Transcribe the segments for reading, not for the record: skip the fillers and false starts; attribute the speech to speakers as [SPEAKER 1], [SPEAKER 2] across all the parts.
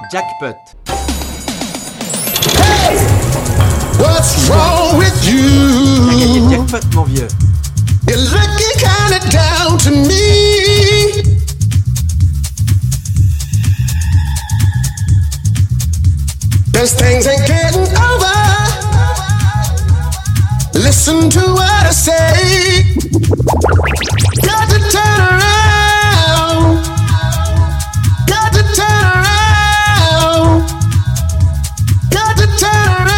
[SPEAKER 1] Jackpot.
[SPEAKER 2] Hey! What's wrong with you?
[SPEAKER 1] T'as gagné le jackpot, mon vieux.
[SPEAKER 2] You're looking kinda down to me. Cause things ain't getting over. Listen to what I say. Got to turn around. Got to turn around. Got to turn around.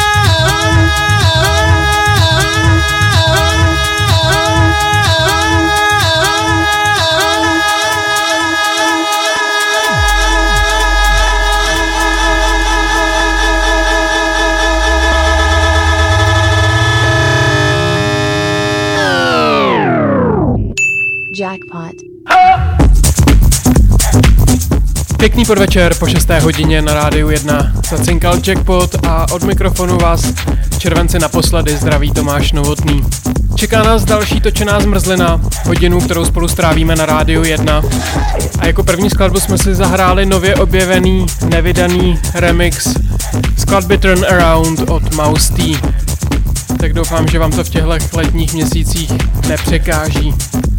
[SPEAKER 3] Jackpot.
[SPEAKER 4] Pěkný podvečer po 6. hodině na Rádiu 1. Zacinkal Jackpot a od mikrofonu vás v červenci naposledy zdraví Tomáš Novotný. Čeká nás další točená zmrzlina, hodinu, kterou spolu strávíme na Rádiu 1. A jako první skladbu jsme si zahráli nově objevený, nevydaný remix skladby Turn Around od Mouse T. Tak doufám, že vám to v těchto letních měsících nepřekáží.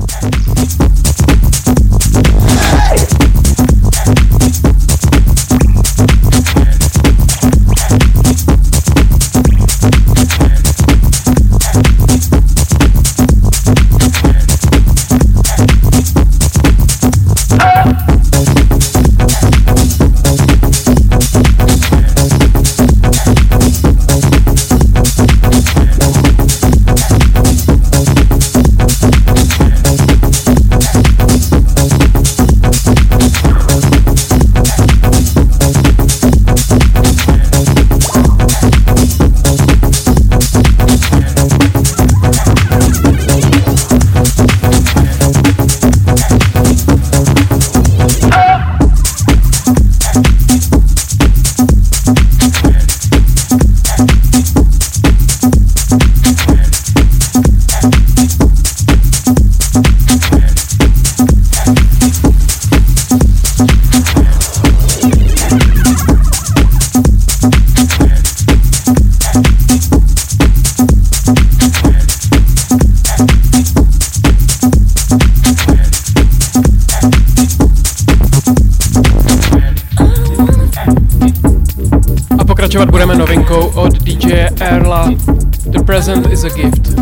[SPEAKER 4] Pokračovat budeme novinkou od DJ Erla. The Present is a Gift.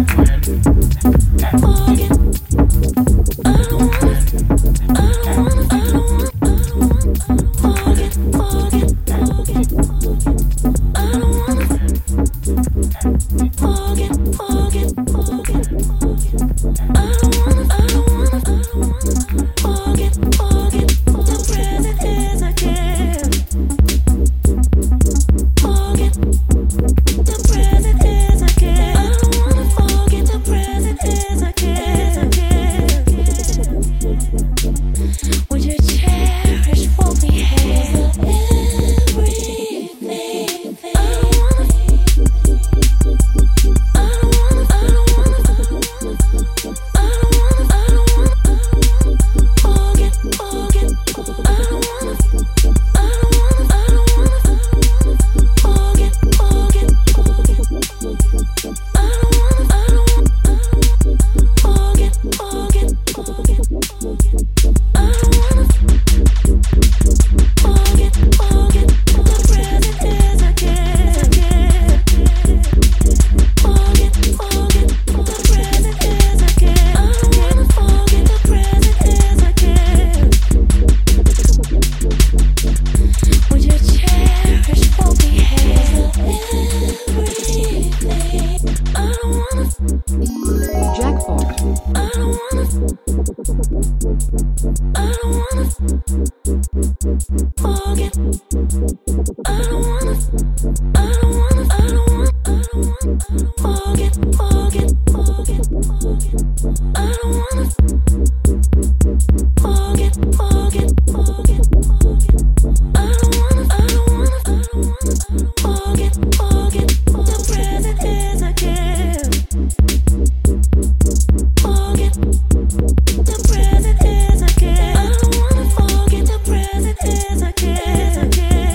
[SPEAKER 5] Again.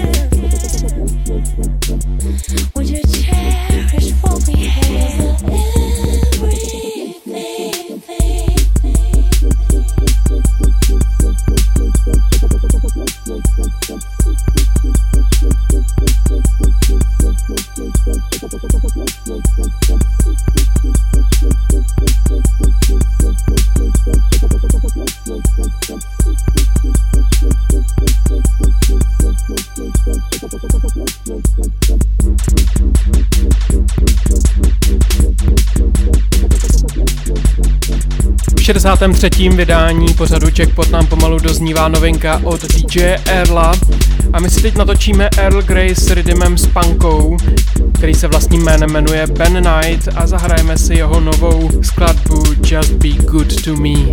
[SPEAKER 4] 63. vydání pořadu Jackpot nám pomalu doznívá novinka od DJ Earla a my si teď natočíme Earl Grey s rhythmem s punkou, který se vlastním jménem jmenuje Ben Knight a zahrajeme si jeho novou skladbu Just Be Good To Me.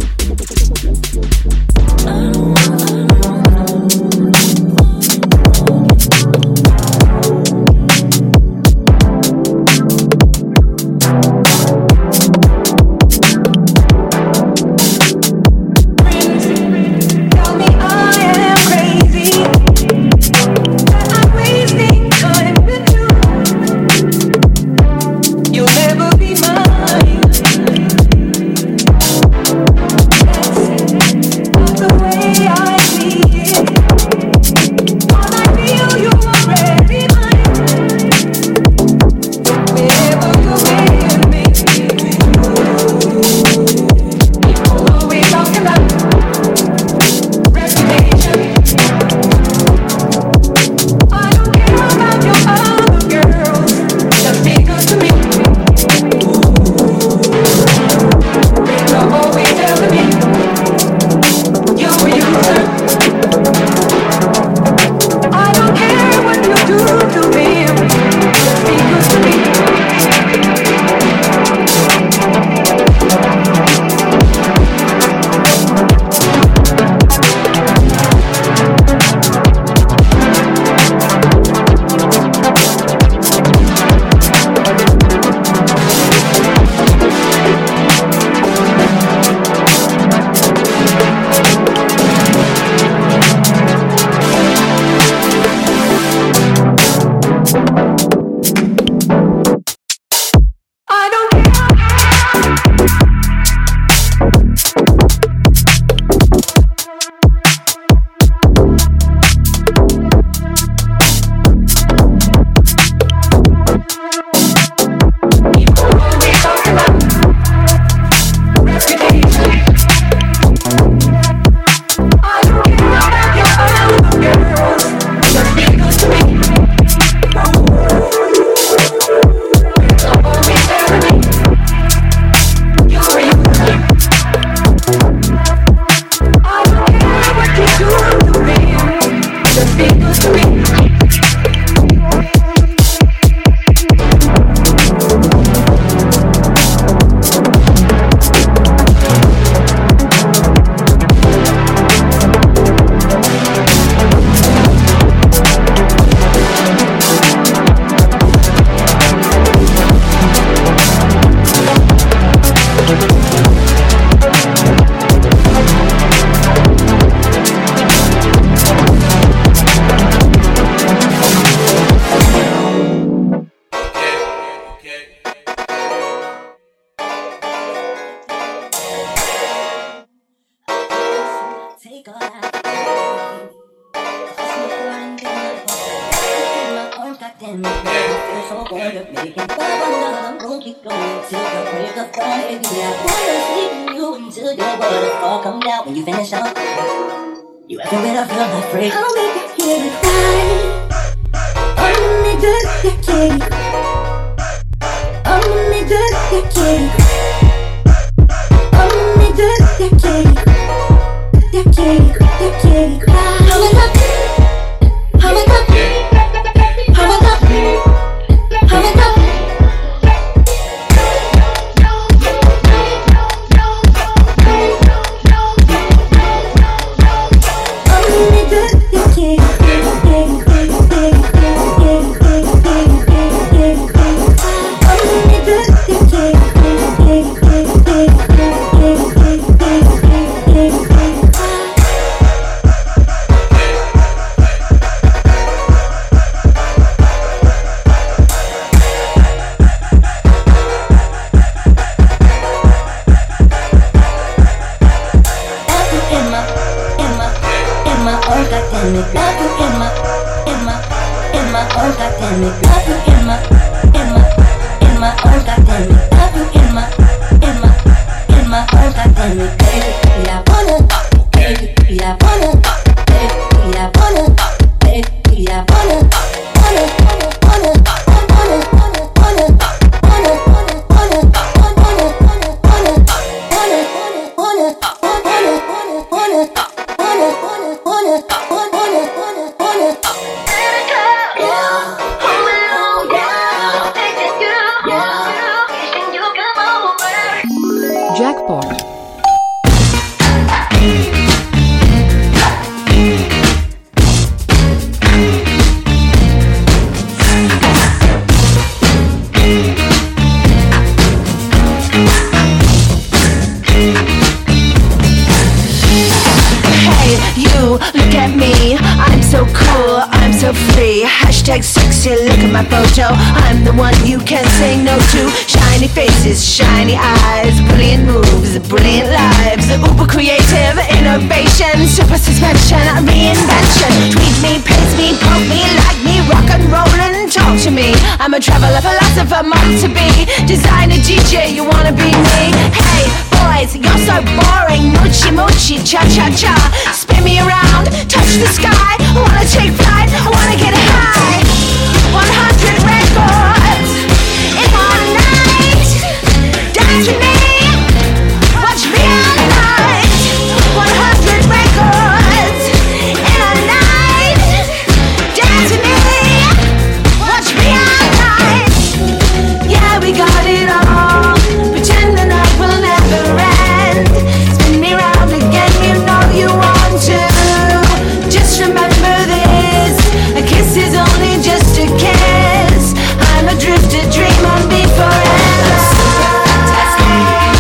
[SPEAKER 1] look at me, I'm so cool, I'm so free. Hashtag sexy, look at my photo. I'm the one you can't say no to. Shiny faces, shiny eyes, brilliant moves, brilliant lives. Uber creative, innovation, super suspension, reinvention. Tweet me, paste me, poke me, like me, rock and roll and talk to me. I'm a traveler, philosopher, mom to be. Designer, DJ, you wanna be me? Hey, boys, you're so boring. Moochie, moochie, cha-cha-cha. Spin me around, touch the sky. I wanna take flight, I wanna get high. 100 records in one night. Dance with me, watch me all night. 100 records in a night. Dance with me, watch me all night. Yeah, we got it all. Pretend the night will never end. Spin me round again, you know you want to. Just remember this, a kiss is only just a kiss. I'm a drifter, dream on me forever. Super fantastic,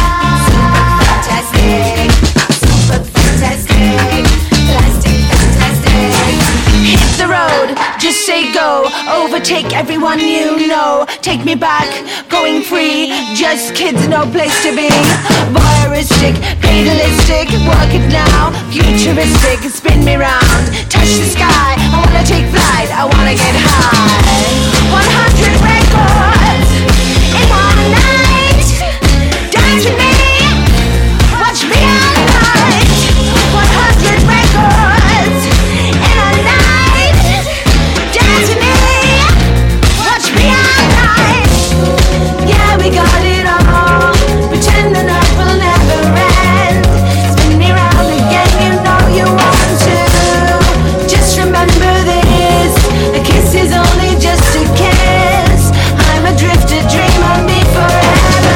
[SPEAKER 1] super fantastic, plastic fantastic. Hit the road, just say go, overtake everyone you know. Take me back, going free, just kids, no place to be. Voyeuristic, fatalistic, work it now. Futuristic, spin me round, touch the sky. I wanna take flight, I wanna get high. 100 records in one night. Dance with me, watch me all night. 100 records in a night. Dance with me, watch me all night. Yeah, we got it all. Pretend the night will never end. Spin me round again, you know you want to. Just remember this, a kiss is only just a kiss. I'm a drifter, dream on me forever.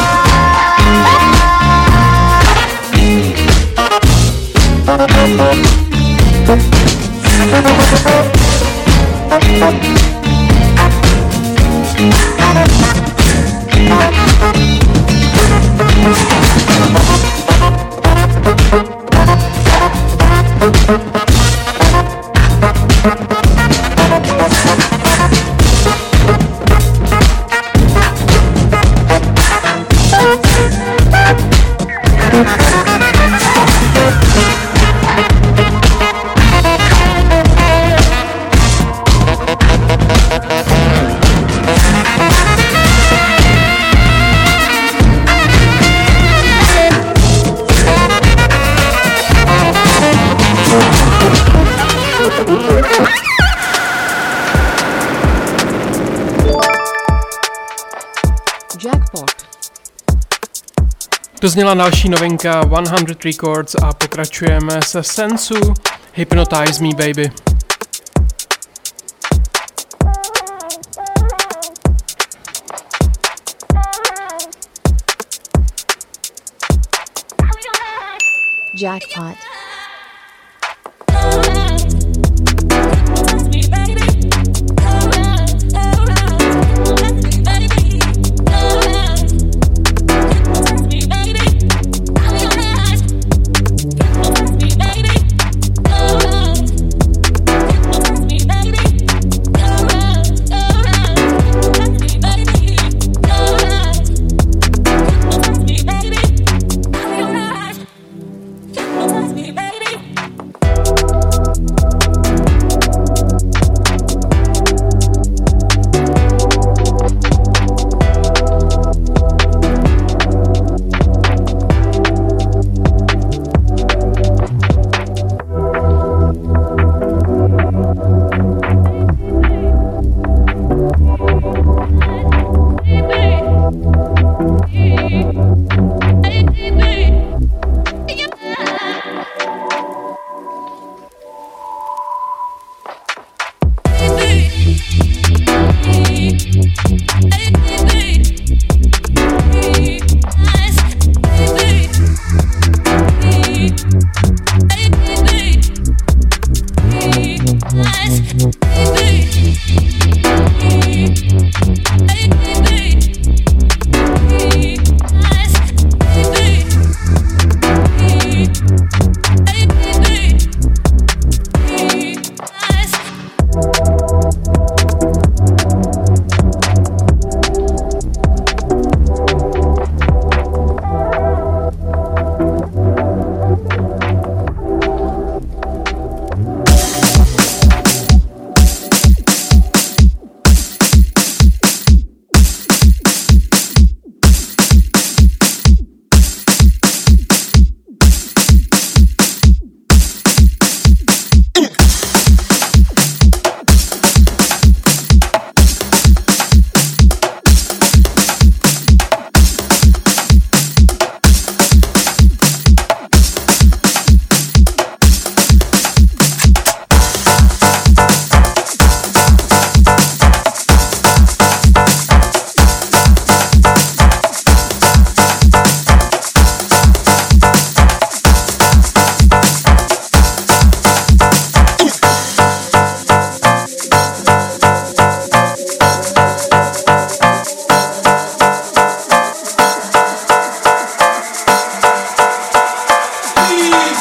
[SPEAKER 4] To zněla další novinka 100 Records a pokračujeme se Sensu Hypnotize Me Baby.
[SPEAKER 3] Jackpot.
[SPEAKER 5] Baby.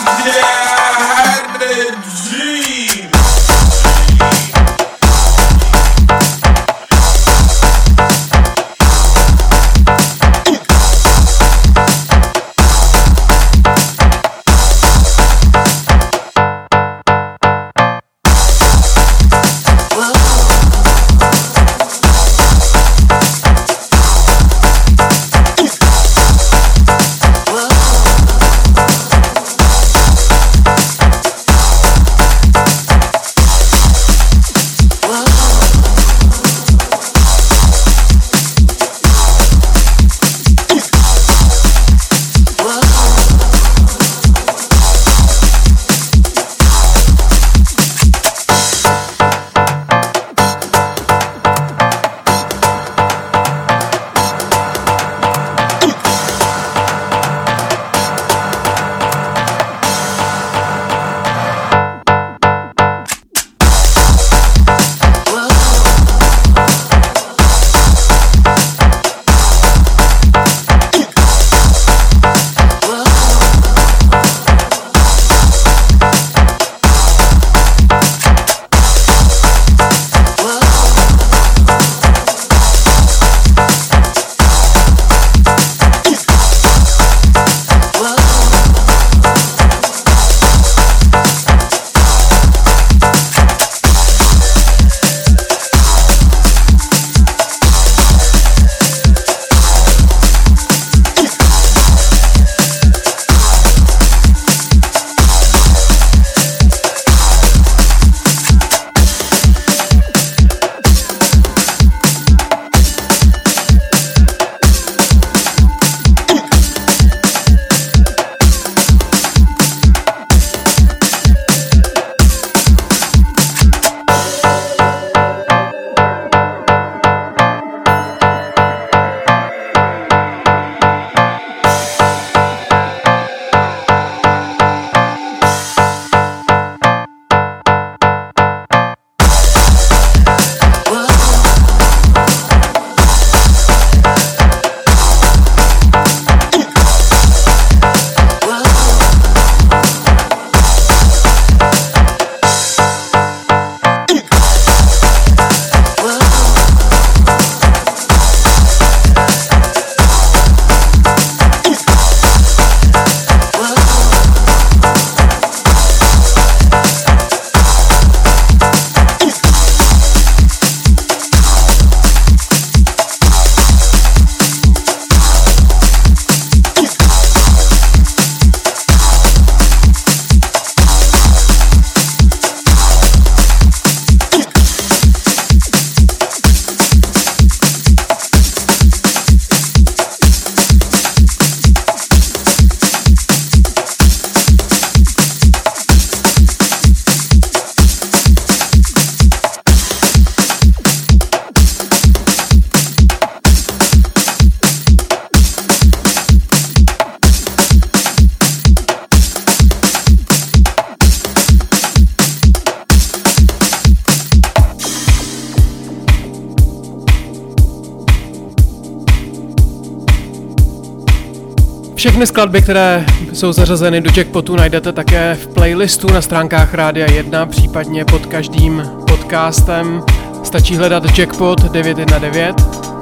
[SPEAKER 4] Všechny skladby, které jsou zařazeny do Jackpotu, najdete také v playlistu na stránkách Rádia 1, případně pod každým podcastem. Stačí hledat Jackpot 919.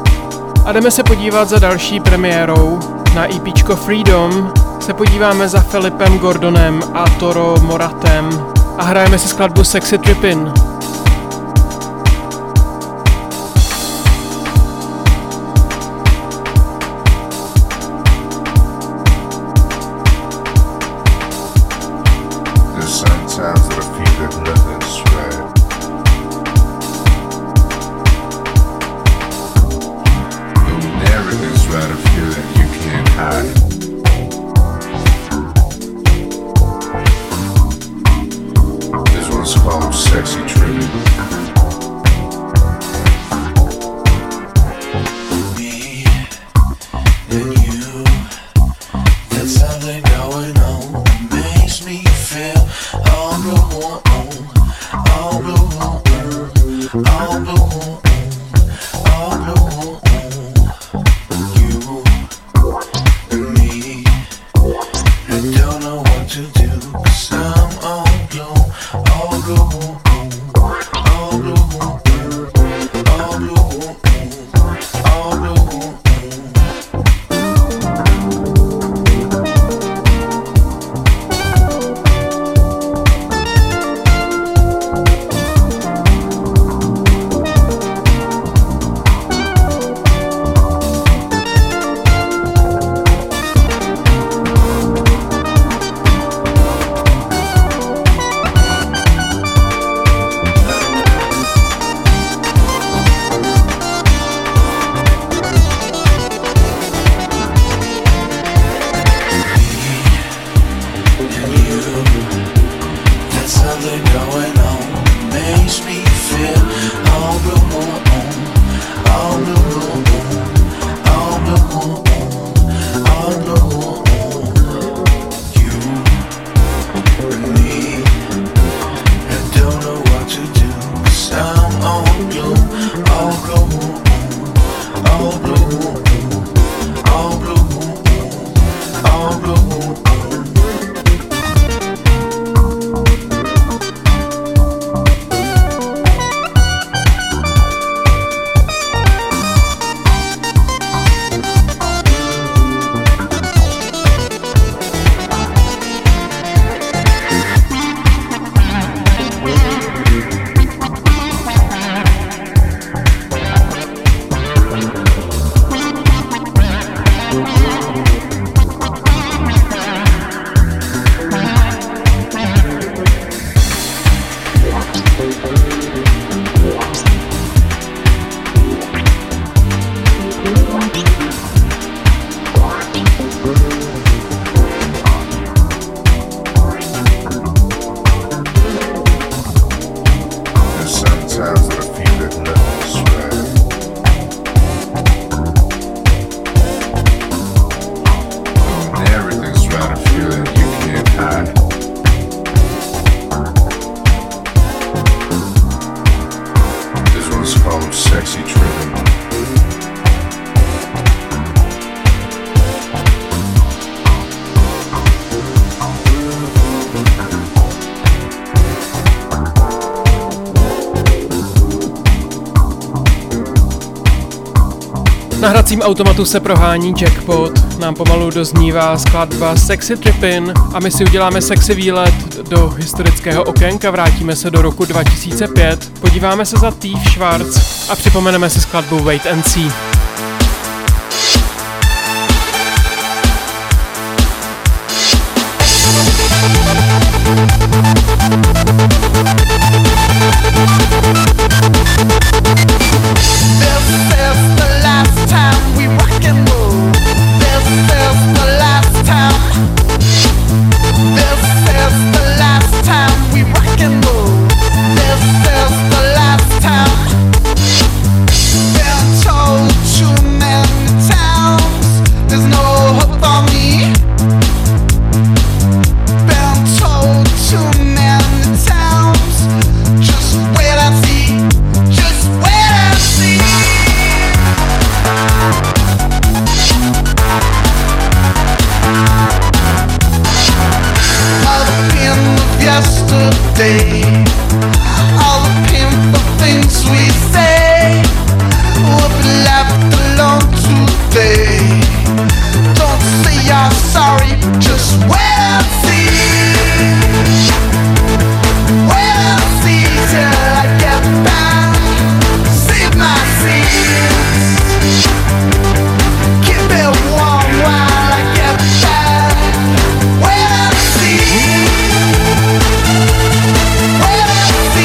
[SPEAKER 4] A jdeme se podívat za další premiérou. Na EPčko Freedom se podíváme za Filipem Gordonem a Toro Moratem a hrajeme si skladbu Sexy Trippin'.
[SPEAKER 3] Don't know what to do.
[SPEAKER 4] Na hracím automatu se prohání Jackpot, nám pomalu doznívá skladba Sexy Trippin a my si uděláme sexy výlet do historického okénka, vrátíme se do roku 2005, podíváme se za Thief Schwarz a připomeneme si skladbu Wait and See.
[SPEAKER 2] Time we rock and roll. This is the last time. This is the last time we rock and roll. This is the last time. Been told too many times there's no hope for me. Been told too many times just wait and see. Just wait and see. All the pain of yesterday, all the painful things we say, will be left alone today. Don't say you're sorry, just wait and see. Wait and see till I get back. Save my sins. Keep it warm while I get back. Wait and see. Wait and see.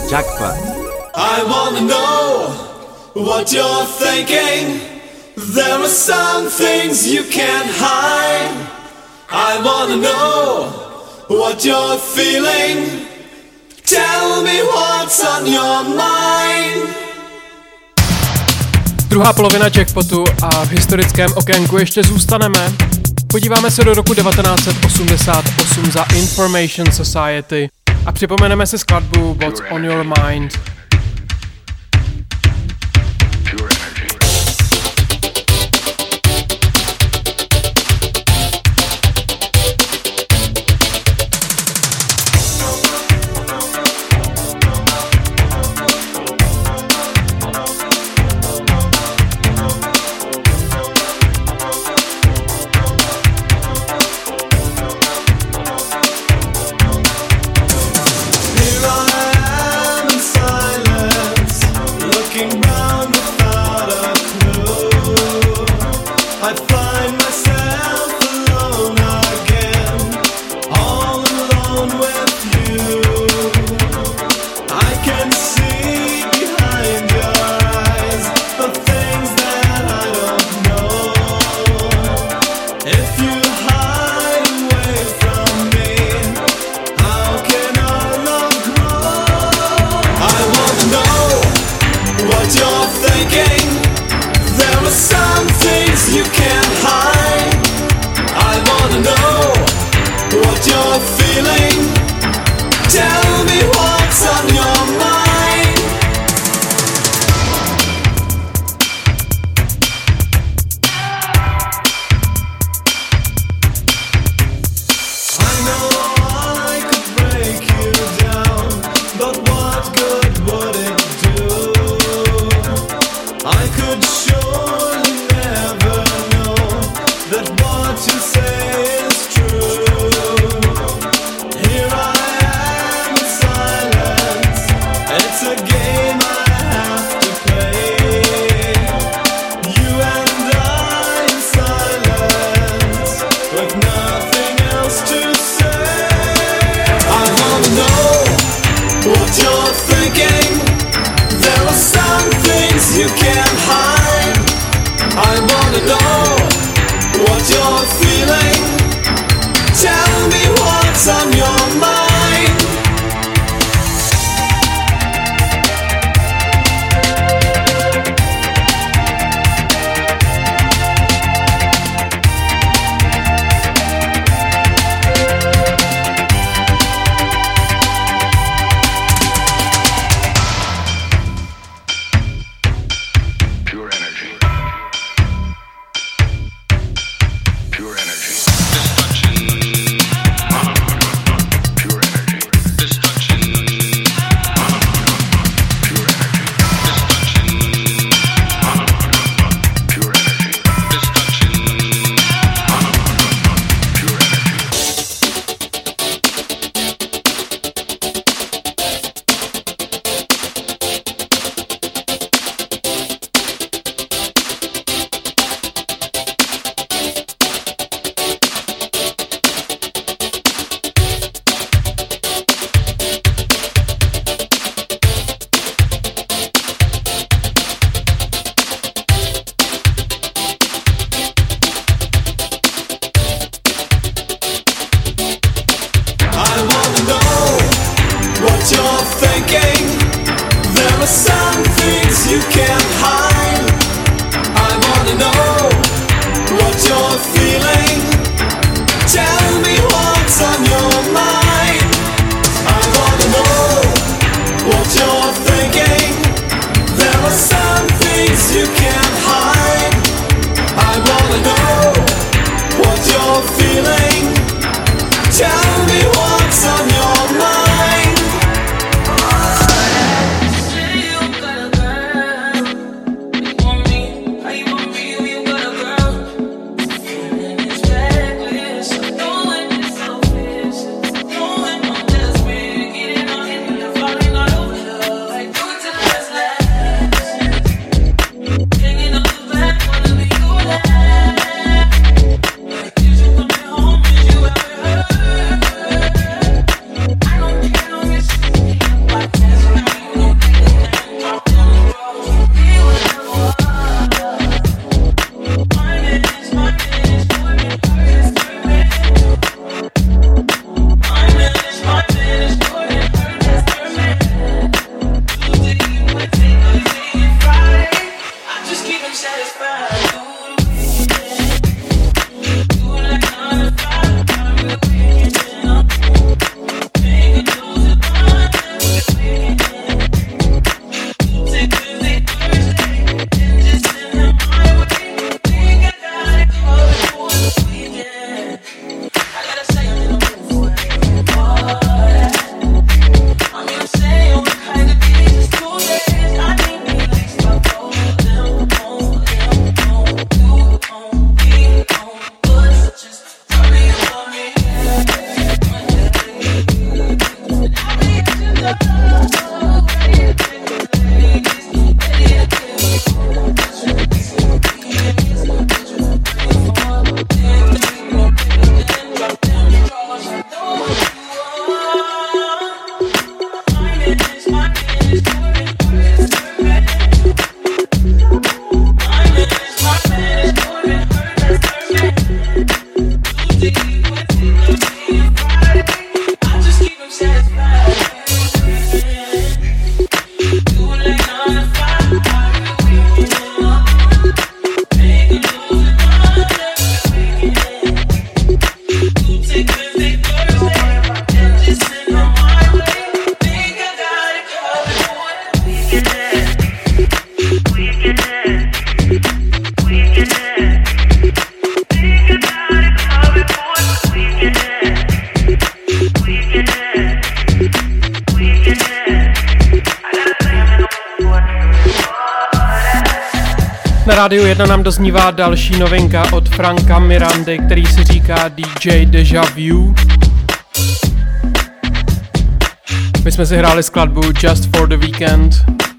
[SPEAKER 3] Jackpot.
[SPEAKER 5] I wanna know what you're thinking. There are some things you can't hide. I wanna know what you're feeling. Tell me what's on your mind.
[SPEAKER 4] Druhá polovina Jackpotu a v historickém okénku ještě zůstaneme. Podíváme se do roku 1988 za Information Society a připomeneme si skladbu What's on Your Mind. Rádiu 1 nám doznívá další novinka od Franka Mirandy, který si říká DJ Deja Vu. My jsme si hráli skladbu Just for the Weekend.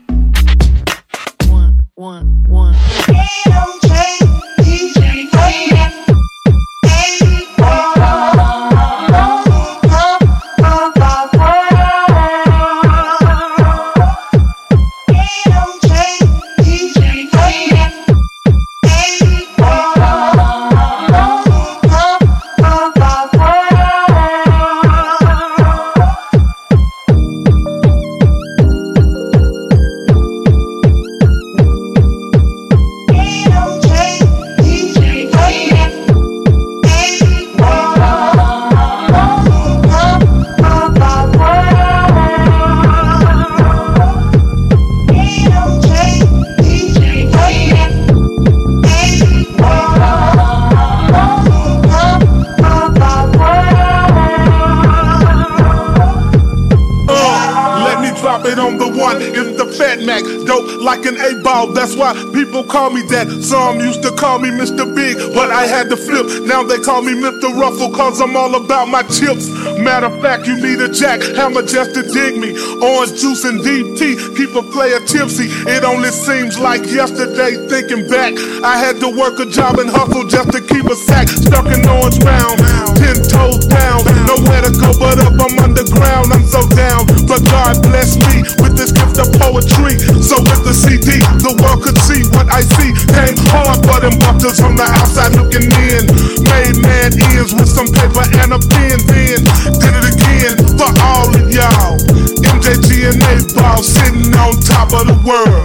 [SPEAKER 3] That's why people call me that. Some used to call me Mr. Big, but I had to flip. Now they call me Mr. Ruffle, cause I'm all about my chips. Matter of fact, you need a jack hammer just to dig me. Orange juice and deep tea, keep a player tipsy. It only seems like yesterday, thinking back, I had to work a job and hustle just to keep a sack. Stuck in Orange Mound, 10 toes down. Nowhere to go but up, I'm underground. I'm so down, but God bless me with this gift of poetry. So with the CD, the world could see what I see. Came hard for them butters on the outside looking in. Made mad ends with some paper and a pen. Then did it again for all of y'all. MJG and A-Ball sitting on top of the world.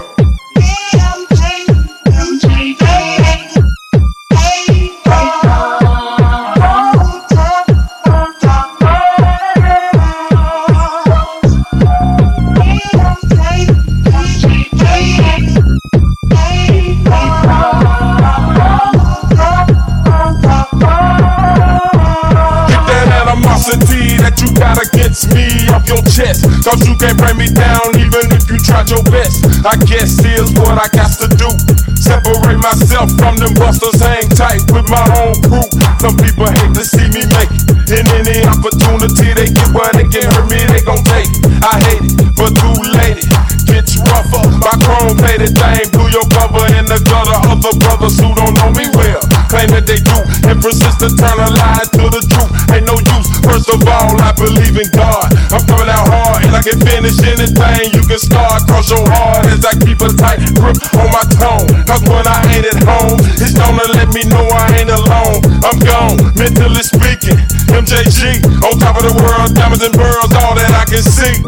[SPEAKER 3] Me off your chest, cause you can't bring me down even if you tried your best. I guess here's what I got to do. Separate myself from them busters, hang tight with my own crew. Some people hate to see me make it. In any opportunity they get where they can hurt me, they gon' take it. I hate it, but too late it gets rougher. My chrome plated thing blew your cover in the gutter. Other brothers who don't know me well claim that they do and persist to turn a lie to the truth. Ain't no use. First of all, I believe in God. I'm coming out hard and I can finish anything. You can start, cross your heart as I keep a tight grip on my tone. Cause when I ain't at home, it's gonna let me know I ain't alone. I'm gone, mentally speaking. MJG, on top of the world, diamonds and pearls, all that I can see.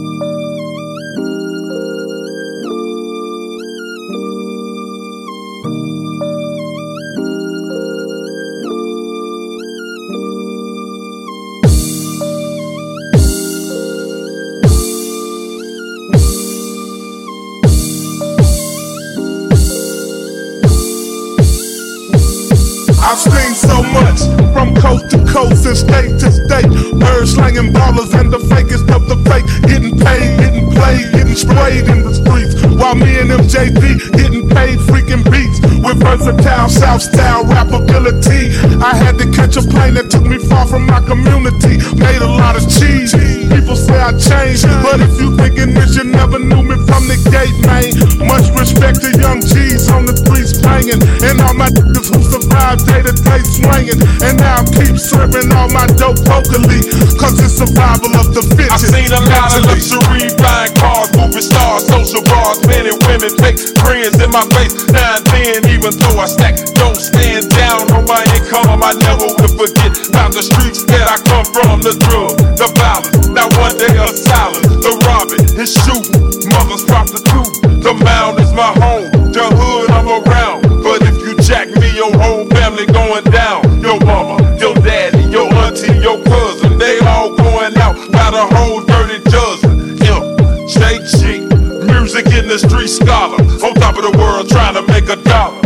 [SPEAKER 3] I've seen so much from coast to coast and state to state. Birds slanging ballers and the fakest of the fake. Getting paid, getting played, getting sprayed in the streets. While me and MJD getting paid freaking beats. With versatile South style rap ability. I had to catch a plane that took me far from my community. Made a lot of cheese. People say I changed, but if you thinking this, you never knew me from the gate, man. Much respect to young G's on the streets banging. And all my niggas who survived day-to-day swinging. And now I keep serving all my dope locally, cause it's survival of the fittest. I've seen a lot of luxury, flying cars, movie stars, social bars, men and women, fake friends in my face. Now and then, even though I stack, don't stand down on my income, I never will forget about the streets that I come from. The drug, the violence, not one day of silence. The robbing, his shooting, mother's prostitute. The mound is my home, the hood I'm around. But if you jack me, your whole family going down. Your mama, your daddy, your auntie, your cousin, they all going out by the whole dirty dozen. Stay cheap, music in the street scholar, on top of the world trying to make a dollar.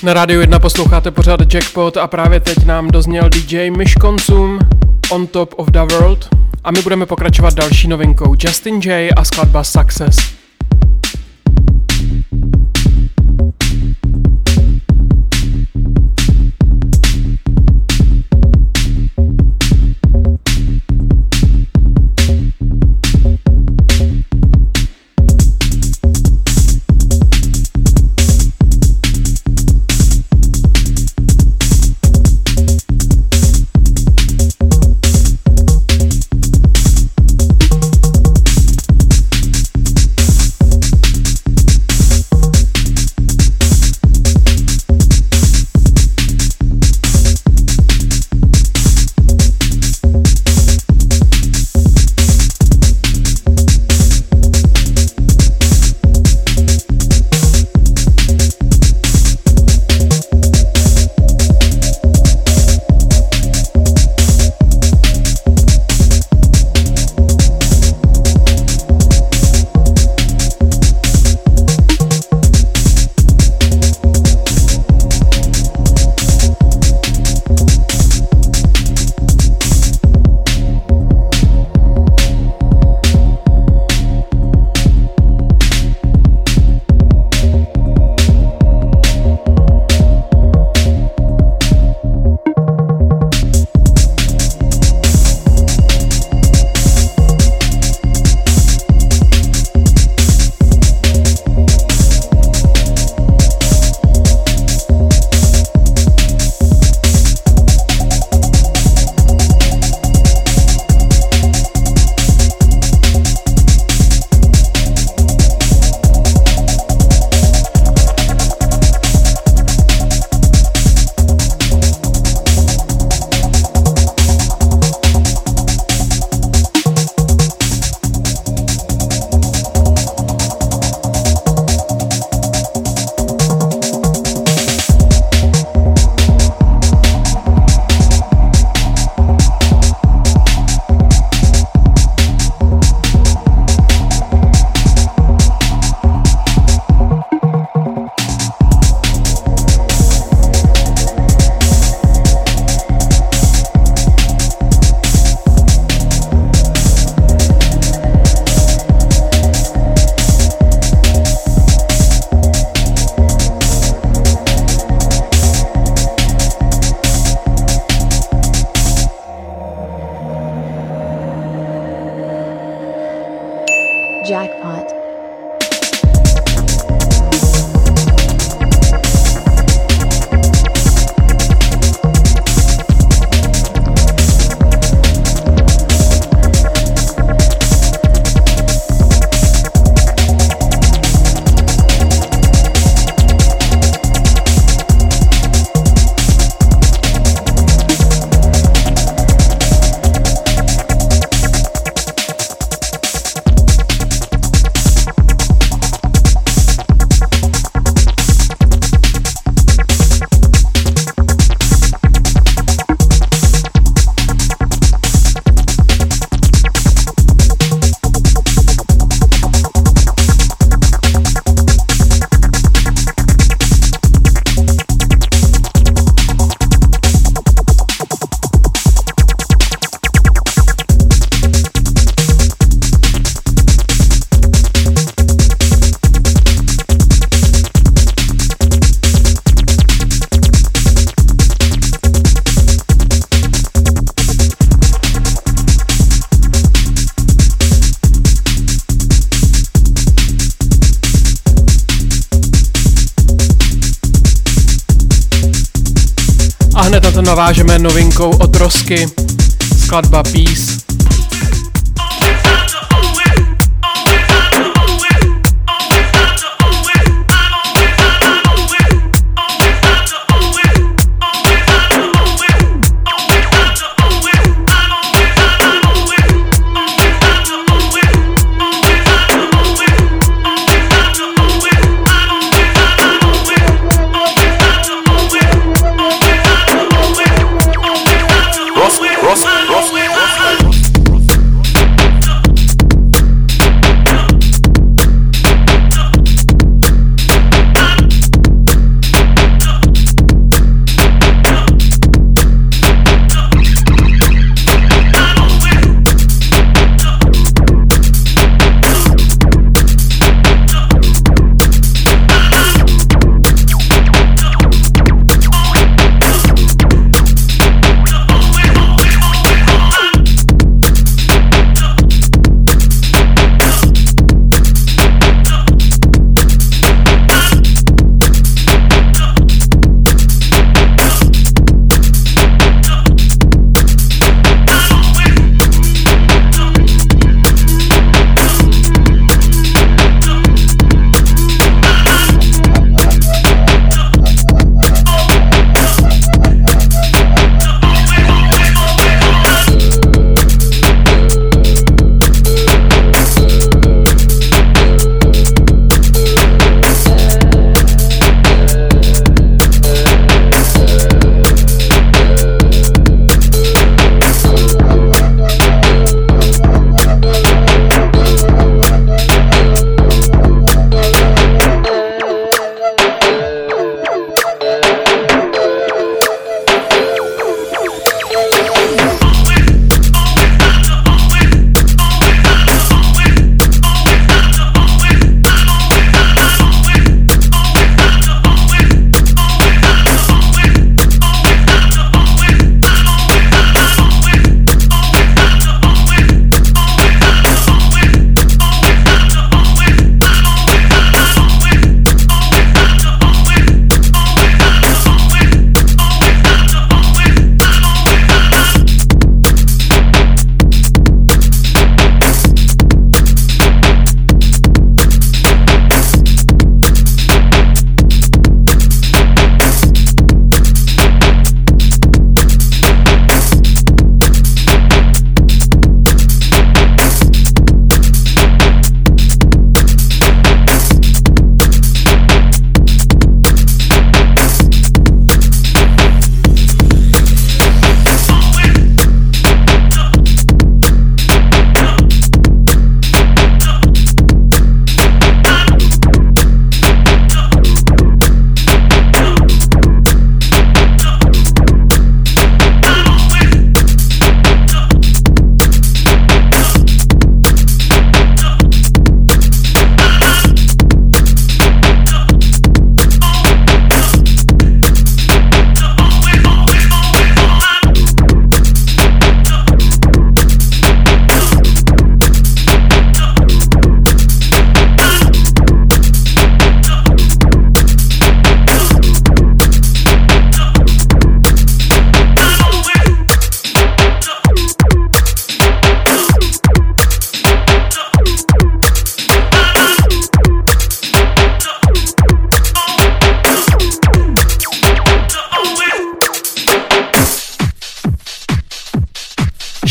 [SPEAKER 4] Na Rádiu 1 posloucháte pořád Jackpot a právě teď nám dozněl DJ Myš Konsum On Top of the World a my budeme pokračovat další novinkou Justin J a skladba Success.
[SPEAKER 6] Jackpot.
[SPEAKER 4] Hned na to navážeme novinkou od Rosky, skladba Peace.
[SPEAKER 7] Ross.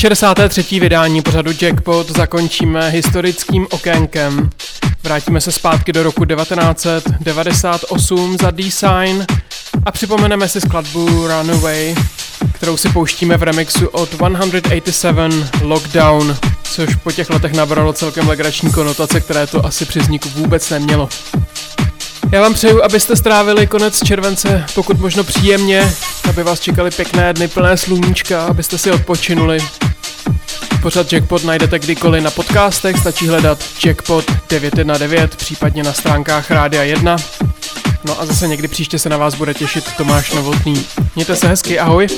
[SPEAKER 4] 63. vydání pořadu Jackpot zakončíme historickým okénkem. Vrátíme se zpátky do roku 1998 za D-Sign a připomeneme si skladbu Runaway, kterou si pouštíme v remixu od 187 Lockdown, což po těch letech nabralo celkem legrační konotace, které to asi při vzniku vůbec nemělo. Já vám přeju, abyste strávili konec července pokud možno příjemně, aby vás čekali pěkné dny plné sluníčka, abyste si odpočinuli. Pořad Jackpot najdete kdykoliv na podcastech, stačí hledat Jackpot 919, případně na stránkách Rádia 1. No a zase někdy příště se na vás bude těšit Tomáš Novotný. Mějte se hezky, ahoj!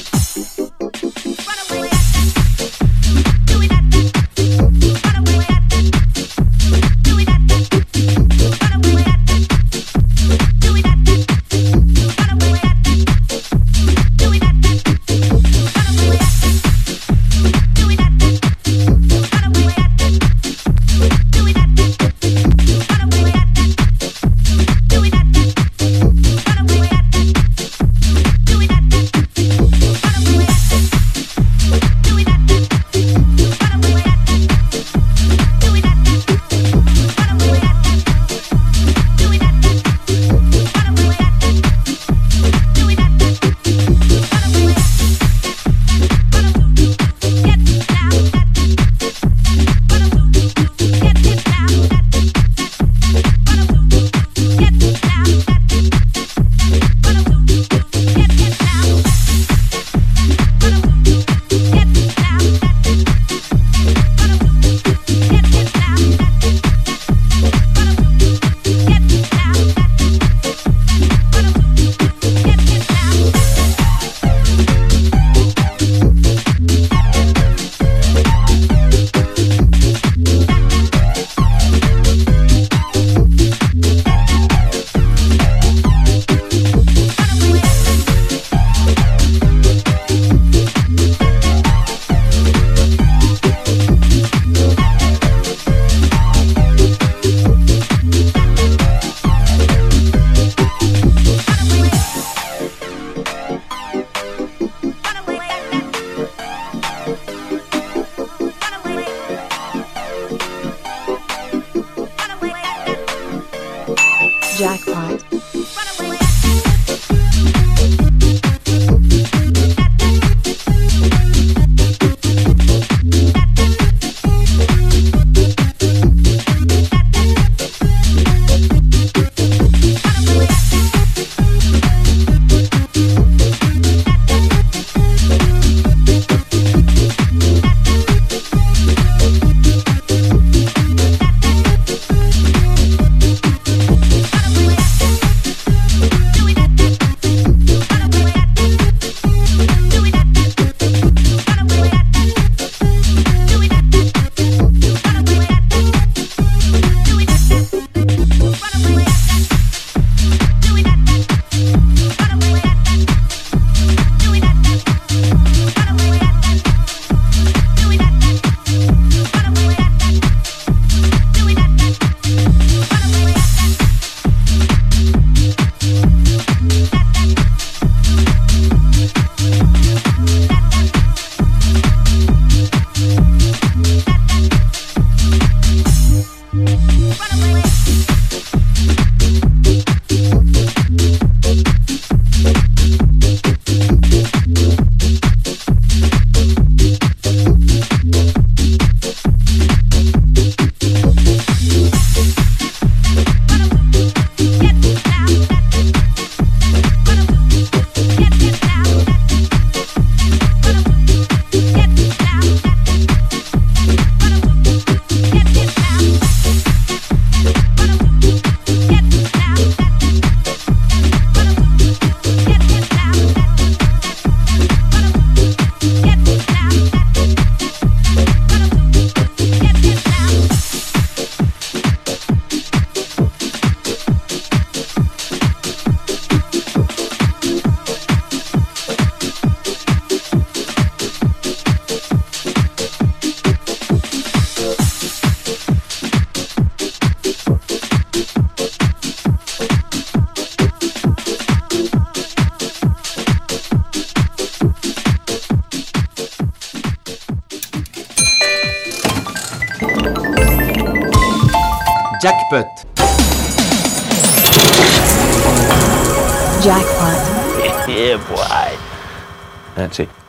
[SPEAKER 6] Run away. Jackpot.
[SPEAKER 1] Jackpot.
[SPEAKER 7] Yeah, boy. That's it.